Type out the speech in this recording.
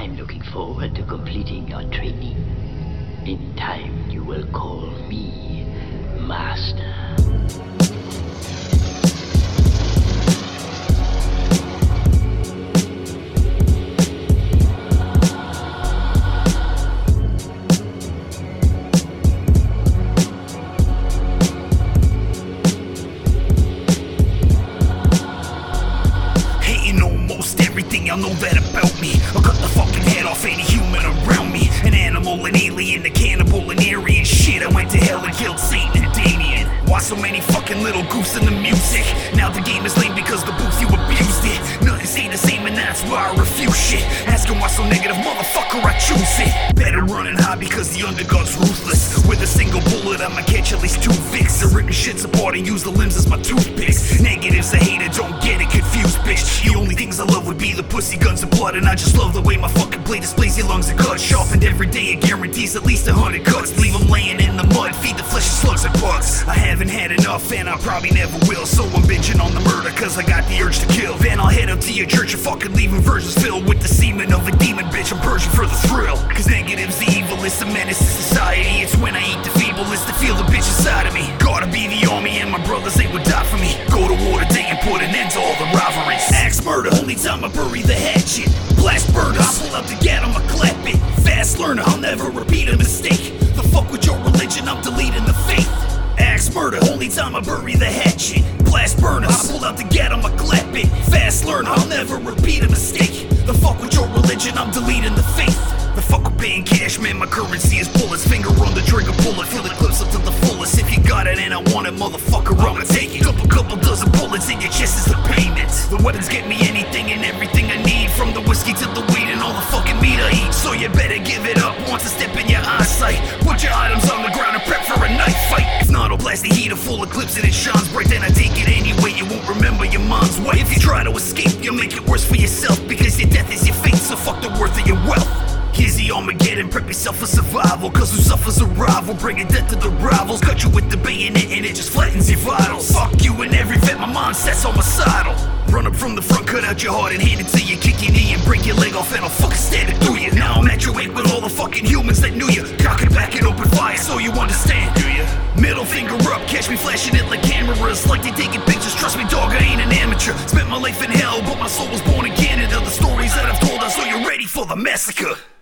I'm looking forward to completing your training. In time, you will call me Master. Y'all know that about me. I'll cut the fucking head off any human around me. An animal, an alien, a cannibal, an Aryan. Shit, I went to hell and killed Satan and Damien. Why so many fucking little goofs in the music? Now the game is lame because the booth you abused it. Nothing stay the same and that's why I refuse shit. Asking why so negative, motherfucker, I choose it. Better run and hide because the underdog's ruthless. With a single bullet I'ma catch at least 2 Vicks. I'm ripping shits apart and use the limbs as my toothpicks. Negatives I hate it, don't get it confused, bitch. The only things I love would be the pussy, guns, and blood. And I just love the way my fucking blade displays your lungs and guts. Sharpened every day, it guarantees at least 100 cuts. Leave them laying in the mud, feed the flesh of slugs and bugs. I haven't had enough and I probably never will. So I'm bitching on the murder cause I got the urge to kill. Then I'll head up to your church and fucking leaving versions filled with the semen of a demon, bitch. I'm purging for the thrill. Cause negative's the evil, it's a menace to society. It's when I eat the feeble, it's to feel the bitch inside of me. Gotta be the army and my brothers, they would die for me. Go to war today and put an end to all the rivalries. Axe murder, only time I bury the hatchet. Blast burners, I pull out the gat, I'ma clap it. Fast learner, I'll never repeat a mistake. The fuck with your religion, I'm deleting the faith. Axe murder, only time I bury the hatchet. Blast burners, I pull out the gat, I'ma clap it. Fast learner, I'll never repeat a mistake. The fuck with your religion, I'm deleting the faith. The fuck with paying cash, man, my currency is bullets. Finger on the trigger, pull it, feel the clips up to the fullest. If you got it and I want it, motherfucker, I'ma take it. Couple dozen bullets in your chest is the payment. The weapons get me anything and everything I need. From the whiskey to the weed and all the fucking meat I eat. So you better give it up once I step in your eyesight. Put your items on the ground and prep for a knife fight. If not, I'll blast the heater full of clips and it shines bright. Then I take it anyway, you won't remember your mom's wife. If you try to escape, you'll make it worse for yourself. Because your death is your fate, so fuck the worth of your wealth. Here's the Armageddon, prep yourself for survival. Cause who suffers a rival, bringing death to the rivals. Cut you with the bayonet and it just flattens your vitals. Fuck you and every vet, my mindset's homicidal. Run up from the front, cut out your heart and hand it to you. Kick your knee and break your leg off and I'll fucking stab it through you. Now I'm at your weight with all the fucking humans that knew you. Cock it back and open fire so you understand, do you? Middle finger up, catch me flashing it like cameras. Like they taking pictures, trust me dog, I ain't an amateur. Spent my life in hell, but my soul was born in Canada. The stories that I've told are so you're ready for the massacre.